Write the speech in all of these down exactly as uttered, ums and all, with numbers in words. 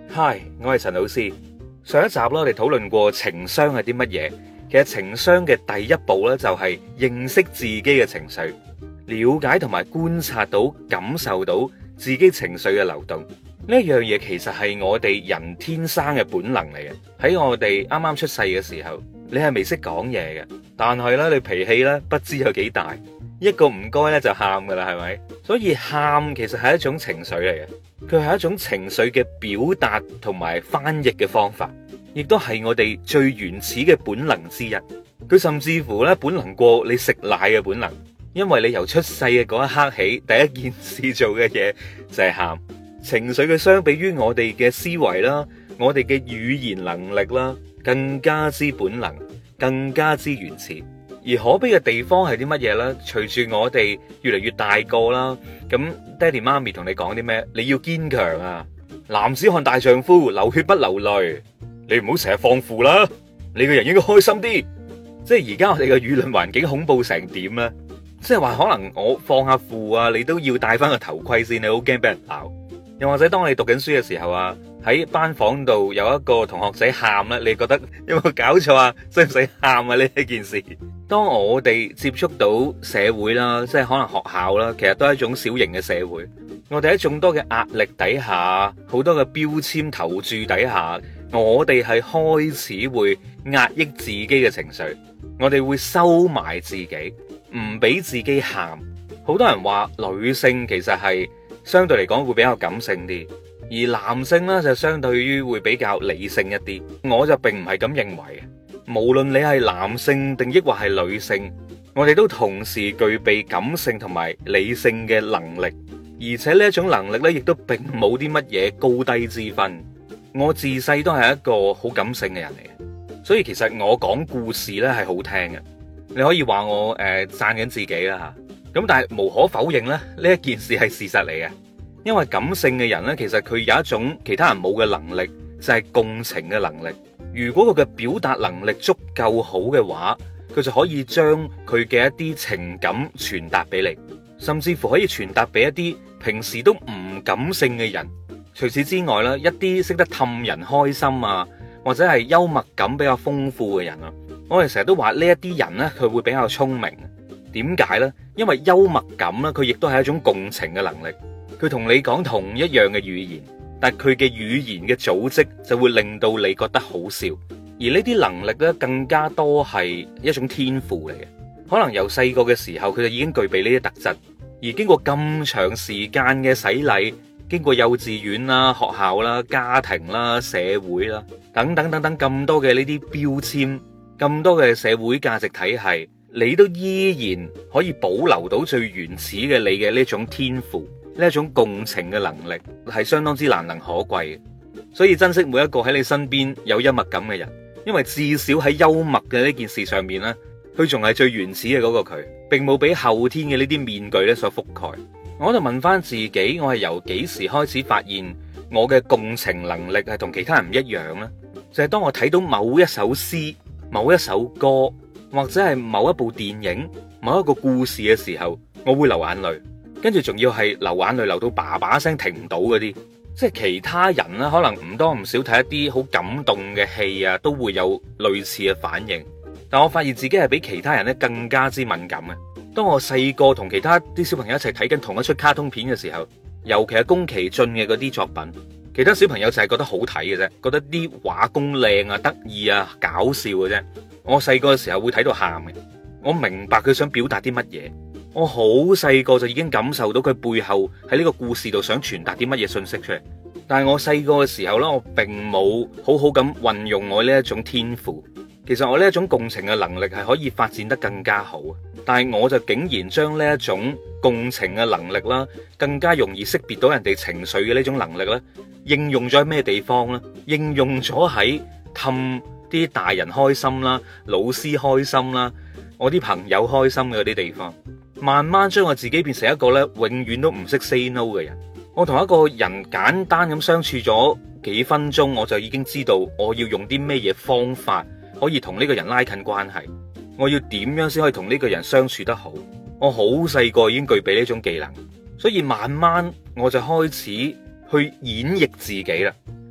Hi，我係陳老師。上一集啦，我哋討論過情商係啲乜嘢。其實情商嘅第一步咧，就係認識自己嘅情緒，了解同埋觀察到、感受到自己情緒嘅流動。呢樣嘢其實係我哋人天生嘅本能嚟嘅。喺我哋啱啱出世嘅時候，你係未識講嘢嘅，但係咧你脾氣咧不知有幾大，一個唔該咧就喊噶啦，係咪？所以喊其實係一種情緒嚟嘅。佢係一種情緒嘅表達同埋翻譯嘅方法，亦都係我哋最原始嘅本能之一。佢甚至乎咧本能過你食奶嘅本能，因為你由出世嘅嗰一刻起，第一件事做嘅嘢就係喊。情緒嘅相比於我哋嘅思維啦，我哋嘅語言能力啦，更加之本能，更加之原始。而可悲嘅地方係啲乜嘢呢？隨住我哋越嚟越大個啦，咁爹哋媽咪同你講啲咩？你要堅強啊！男子漢大丈夫，流血不流淚。你唔好成日放負啦，你個人應該開心啲。即係而家我哋嘅輿論環境恐怖成點呢？即係話可能我放下負啊，你都要戴翻個頭盔先，你好驚俾人鬧。又或者當你讀緊書嘅時候啊，喺班房度有一個同學仔喊啦，你覺得有冇搞錯啊？使唔使喊啊？呢一件事，當我哋接觸到社會啦，即係可能學校啦，其實都係一種小型嘅社會。我哋喺眾多嘅壓力底下，好多嘅標籤投注底下，我哋係開始會壓抑自己嘅情緒，我哋會收埋自己，唔俾自己喊。好多人話女性其實係相對嚟講會比較感性啲，而男性呢就相對於會比較理性一啲。我就並唔係咁認為。無論你係男性定抑或係女性，我哋都同時具備感性同埋理性嘅能力，而且呢一種能力呢，亦都並冇啲乜嘢高低之分。我自細都係一個好感性嘅人嚟嘅，所以其實我講故事呢係好聽嘅。你可以話我誒讚緊自己啦吓，咁但係無可否認咧，呢一件事係事實嚟嘅。因為感性嘅人呢，其實佢有一種其他人冇嘅能力，就係共情嘅能力。如果佢嘅表達能力足夠好嘅話，佢就可以將佢嘅一啲情感傳達俾你，甚至乎可以傳達俾一啲平時都唔感性嘅人。除此之外咧，一啲識得氹人開心啊，或者係幽默感比較豐富嘅人啊，我哋成日都話呢一啲人呢，佢會比較聰明。點解呢？因為幽默感呢，佢亦都係一種共情嘅能力。佢同你講同一樣嘅語言，但佢嘅語言嘅組織就會令到你覺得好笑。而呢啲能力咧，更加多係一種天賦嚟嘅。可能由細個嘅時候，佢就已經具備呢啲特質。而經過咁長時間嘅洗禮，經過幼稚園啦、學校啦、家庭啦、社會啦等等等等咁多嘅呢啲標籤，咁多嘅社會價值體系，你都依然可以保留到最原始嘅你嘅呢種天賦。呢一種共情嘅能力係相當之難能可貴嘅，所以珍惜每一個喺你身邊有幽默感嘅人，因為至少喺幽默嘅呢件事上面呢，佢仲係最原始嘅嗰個佢，並冇俾後天嘅呢啲面具咧所覆蓋。我就問翻自己，我係由幾時開始發現我嘅共情能力係同其他人唔一樣呢？就係當我睇到某一首詩、某一首歌，或者係某一部電影、某一個故事嘅時候，我會流眼淚。跟住仲要係流眼淚流到叭叭聲停唔到嗰啲，即係其他人咧可能唔多唔少睇一啲好感動嘅戲啊，都會有類似嘅反應。但我發現自己係比其他人咧更加之敏感嘅。當我細個同其他啲小朋友一齊睇緊同一出卡通片嘅時候，尤其係宮崎駿嘅嗰啲作品，其他小朋友就係覺得好睇嘅啫，覺得啲畫工靚啊、得意啊、搞笑嘅啫。我細個嘅時候會睇到喊嘅，我明白佢想表達啲乜嘢。我好細個就已經感受到佢背後喺呢個故事度想傳達啲乜嘢信息出嚟，但係我細個嘅時候呢，我並冇好好咁運用我呢一種天賦。其實我呢一種共情嘅能力係可以發展得更加好，但係我就竟然將呢一種共情嘅能力啦，更加容易識別到人哋情緒嘅呢種能力咧，應用咗喺咩地方呢？應用咗喺氹啲大人開心啦、老師開心啦、我啲朋友開心嘅嗰啲地方。慢慢將我自己變成一個咧，永遠都唔識 say no 嘅人。我同一個人簡單咁相處咗幾分鐘，我就已經知道我要用啲咩嘢方法可以同呢個人拉近關係。我要點樣先可以同呢個人相處得好？我好細個已經具備呢種技能，所以慢慢我就開始去演繹自己啦。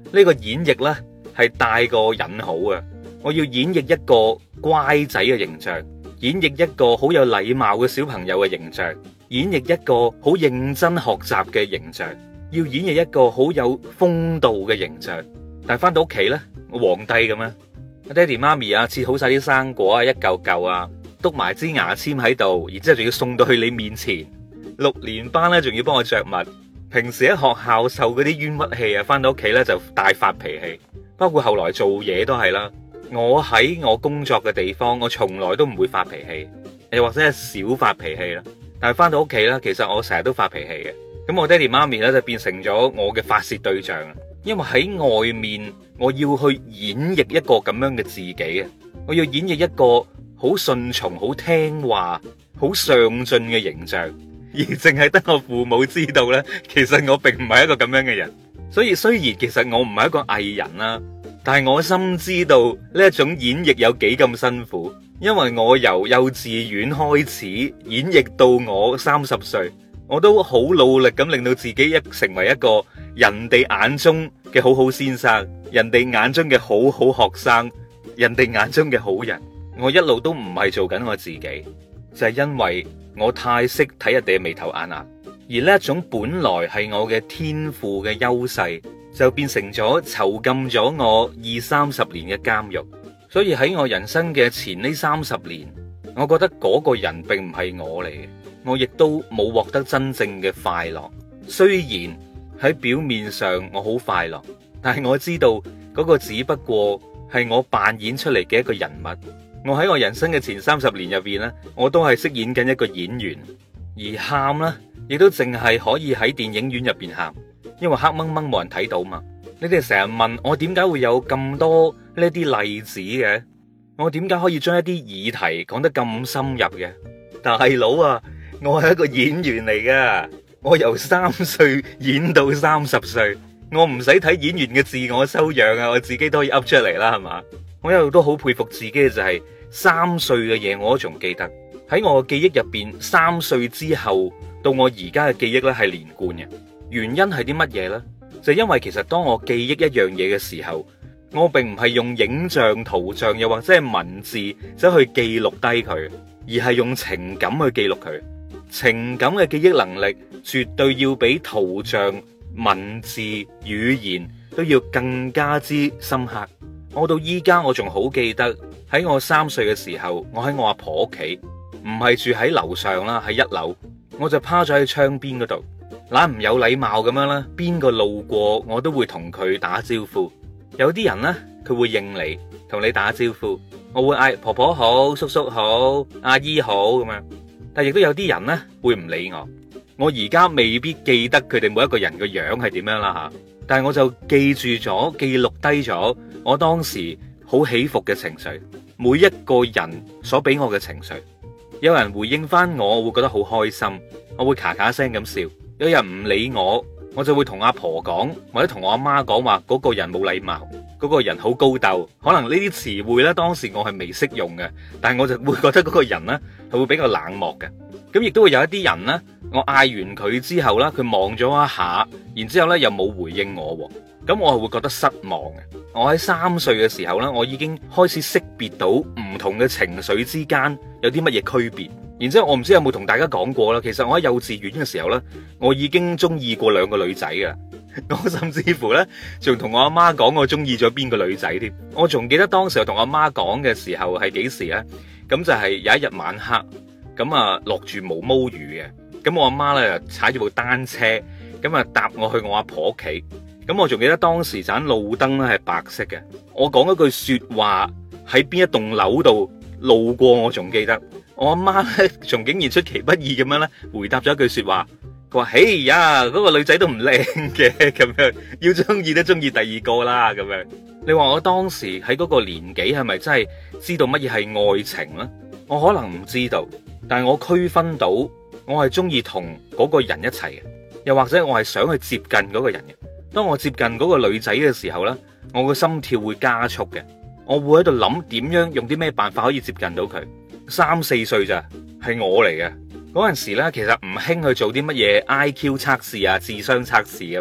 呢個演繹呢係帶個引號啊！我要演繹一個乖仔嘅形象，演繹一個好有禮貌嘅小朋友嘅形象，演繹一個好認真學習嘅形象，要演繹一個好有風度嘅形象。但係翻到屋企呢，我皇帝咁樣，爹哋媽咪啊，切好晒啲生果啊，一嚿嚿啊，篤埋支牙籤喺度，然之後仲要送到去你面前。六年班咧，仲要幫我着襪。平時喺學校受嗰啲冤屈氣啊，翻到屋企咧就大發脾氣。包括後來做嘢都係啦。我喺我工作嘅地方，我從來都唔會發脾氣，又或者係少發脾氣啦。但係翻到屋企咧，其實我成日都發脾氣嘅。咁我爹哋媽咪咧就變成咗我嘅發洩對象。因為喺外面，我要去演繹一個咁樣嘅自己啊，我要演繹一個好順從、好聽話、好上進嘅形象，而淨係得我父母知道呢，其實我並唔係一個咁樣嘅人。所以雖然其實我唔係一個藝人啦，但係我深知道呢一種演繹有幾咁辛苦，因為我由幼稚園開始演繹到我三十歲，我都好努力咁令到自己一成為一個人哋眼中嘅好好先生，人哋眼中嘅好好學生，人哋眼中嘅好人。我一路都唔係做緊我自己，就係因為我太識睇人哋嘅眉頭眼額，而呢一種本來係我嘅天賦嘅優勢，就變成咗囚禁咗我二三十年嘅監獄。所以喺我人生嘅前呢三十年，我覺得嗰個人並唔係我嚟嘅，我亦都冇獲得真正嘅快樂。雖然喺表面上我好快樂，但係我知道嗰個只不過係我扮演出嚟嘅一個人物。我喺我人生嘅前三十年入邊呢，我都係飾演緊一個演員，而喊呢，亦都淨係可以喺電影院入邊喊，因為黑掹掹冇人睇到嘛。你哋成日問我點解會有咁多呢啲例子嘅，我點解可以將一啲議題講得咁深入嘅？大佬啊，我係一個演員嚟噶，我由三歲演到三十歲，我唔使睇演員嘅自我修養啊，我自己都可以噏出嚟啦，係嘛？我一路都好佩服自己嘅就係三歲嘅嘢我都仲記得，喺我嘅記憶入邊，三歲之後到我而家嘅記憶咧係連貫嘅。原因係啲乜嘢呢？就因為其實當我記憶一樣嘢嘅時候，我並唔係用影像、圖像又或者係文字走去記錄低佢，而係用情感去記錄佢。情感嘅記憶能力絕對要比圖像、文字、語言都要更加之深刻。我到依家我仲好記得喺我三歲嘅時候，我喺我阿婆屋企，唔係住喺樓上啦，喺一樓，我就趴咗喺窗邊嗰度，懶唔有禮貌咁樣啦，邊個路過我都會同佢打招呼。有啲人呢，佢會應你，同你打招呼，我會嗌婆婆好、叔叔好、阿姨好咁樣。但亦都有啲人呢，會唔理我。我而家未必記得佢哋每一個人個樣係點樣啦吓，但係我就記住咗、記錄低咗我當時好起伏嘅情緒，每一個人所俾我嘅情緒。有人回應翻我，我會覺得好開心，我會咔咔聲咁笑。有人唔理我，我就會同阿婆講，或者同我阿媽講話嗰個人冇禮貌，嗰個人好高竇。可能呢啲詞彙呢，當時我係未識用嘅，但係我就會覺得嗰個人呢係會比較冷漠嘅。咁亦都會有一啲人呢，我嗌完佢之後呢，佢望咗一下，然之後呢又冇回應我，咁我係會覺得失望嘅。我喺三歲嘅時候呢，我已經開始識別到唔同嘅情緒之間有啲乜嘢區別。然之後我唔知有冇同大家講過啦，其實我喺幼稚園嘅時候呢，我已經中意過兩個女仔噶。我甚至乎呢，仲同我阿媽講我中意咗邊個女仔添。我仲記得當時我同阿媽講嘅時候係幾時呢？咁就係有一日晚黑，咁啊落住毛毛雨嘅，咁我阿媽呢，踩住部單車，咁啊搭我去我阿婆屋企。咁我仲記得當時盞路燈咧係白色嘅。我講一句說話喺邊一棟樓度路過，我仲記得。我阿媽咧仲竟然出其不意咁樣咧回答咗一句說話，佢話：嘿呀，嗰個女仔都唔靚嘅，咁樣要中意都中意第二個啦，咁樣。你話我當時喺嗰個年紀係咪真係知道乜嘢係愛情呢？我可能唔知道，但係我區分到我係中意同嗰個人一齊嘅，又或者我係想去接近嗰個人嘅。當我接近嗰個女仔嘅時候呢，我個心跳會加速嘅，我會喺度諗點樣用啲咩辦法可以接近到佢。三四歲咋，係我嚟嘅嗰陣時呢，其實唔興去做啲乜嘢 I Q 測試啊、智商測試啊嘛。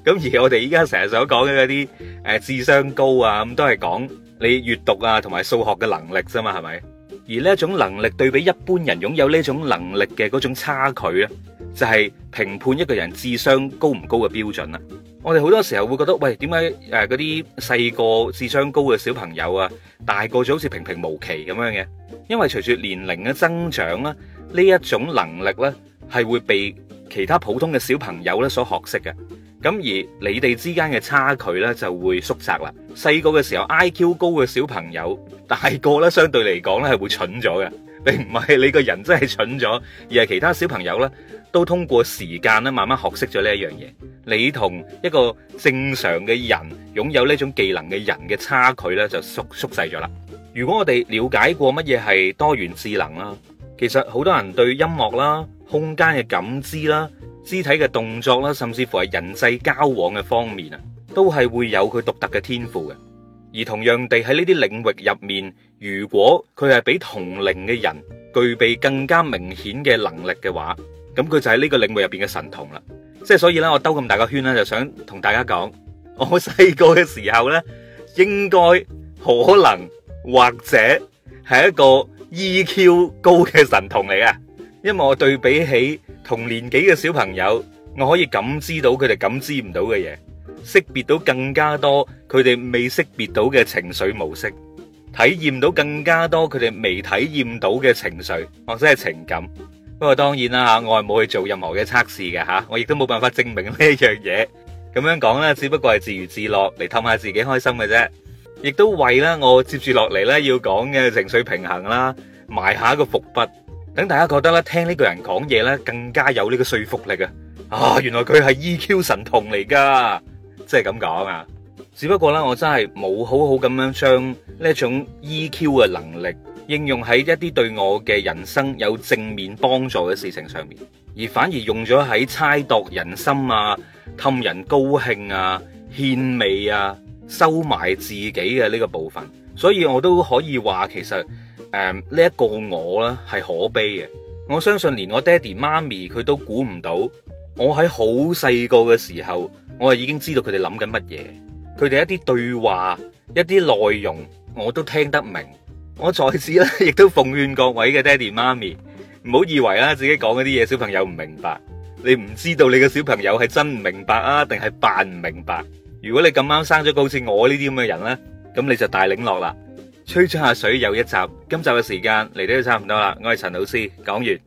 咁而我哋依家成日所講嘅嗰啲誒智商高啊，咁都係講你閱讀啊同埋數學嘅能力啫嘛，係咪？而呢一種能力對比一般人擁有呢種能力嘅嗰種差距咧，就係評判一個人智商高唔高嘅標準啦。我哋好多時候會覺得，喂，點解誒嗰啲細個智商高嘅小朋友啊，大個咗好似平平無奇咁樣嘅？因為隨住年齡嘅增長啦，呢一種能力咧係會被其他普通嘅小朋友咧所學識嘅。咁而你哋之間嘅差距咧就會縮窄啦。細個嘅時候 I Q 高嘅小朋友，大個咧相對嚟講咧係會蠢咗嘅，並唔係你個人真係蠢咗，而係其他小朋友咧都通過時間咧慢慢學識咗呢一樣嘢。你同一個正常嘅人擁有呢種技能嘅人嘅差距咧就縮縮細咗啦。如果我哋了解過乜嘢係多元智能啦，其實好多人對音樂啦、空間嘅感知啦、肢體嘅動作啦，甚至乎係人際交往嘅方面啊，都係會有佢獨特嘅天賦嘅。而同樣地喺呢啲領域入面，如果佢係比同齡嘅人具備更加明顯嘅能力嘅話，咁佢就係呢個領域入邊嘅神童啦。即係所以咧，我兜咁大個圈咧，就想同大家講，我細個嘅時候咧，應該可能或者係一個 E Q 高嘅神童嚟嘅，因為我對比起同年紀嘅小朋友，我可以感知到佢哋感知唔到嘅嘢，識別到更加多佢哋未識別到嘅情緒模式，體驗到更加多佢哋未體驗到嘅情緒或者係情感。不過當然啦吓，我係冇去做任何嘅測試嘅吓，我亦都冇辦法證明呢一樣嘢。咁樣講咧，只不過係自娛自樂嚟氹下自己開心嘅啫，亦都為啦我接住落嚟咧要講嘅情緒平衡啦埋下一個伏筆，等大家覺得咧聽呢個人講嘢咧更加有呢個說服力啊！啊，原來佢係 E Q 神童嚟噶，即係咁講啊！只不過咧，我真係冇好好咁樣將呢一種 E Q 嘅能力應用喺一啲對我嘅人生有正面幫助嘅事情上面，而反而用咗喺猜度人心啊、氹人高興啊、獻媚啊、收埋自己嘅呢個部分。所以我都可以話，其實誒呢一個我咧係可悲嘅。我相信連我爹哋媽咪佢都估唔到，我喺好細個嘅時候，我係已經知道佢哋諗緊乜嘢，佢哋一啲對話、一啲內容我都聽得明。我在此咧，亦都奉勸各位嘅爹哋媽咪，唔好以為啦自己講嗰啲嘢小朋友唔明白，你唔知道你嘅小朋友係真唔明白啊，定係扮唔明白。如果你咁啱生咗個好似我呢啲咁嘅人咧，咁你就大領落啦。吹出下水又一集，今集嘅時間嚟到都差唔多啦。我係陳老師，講完。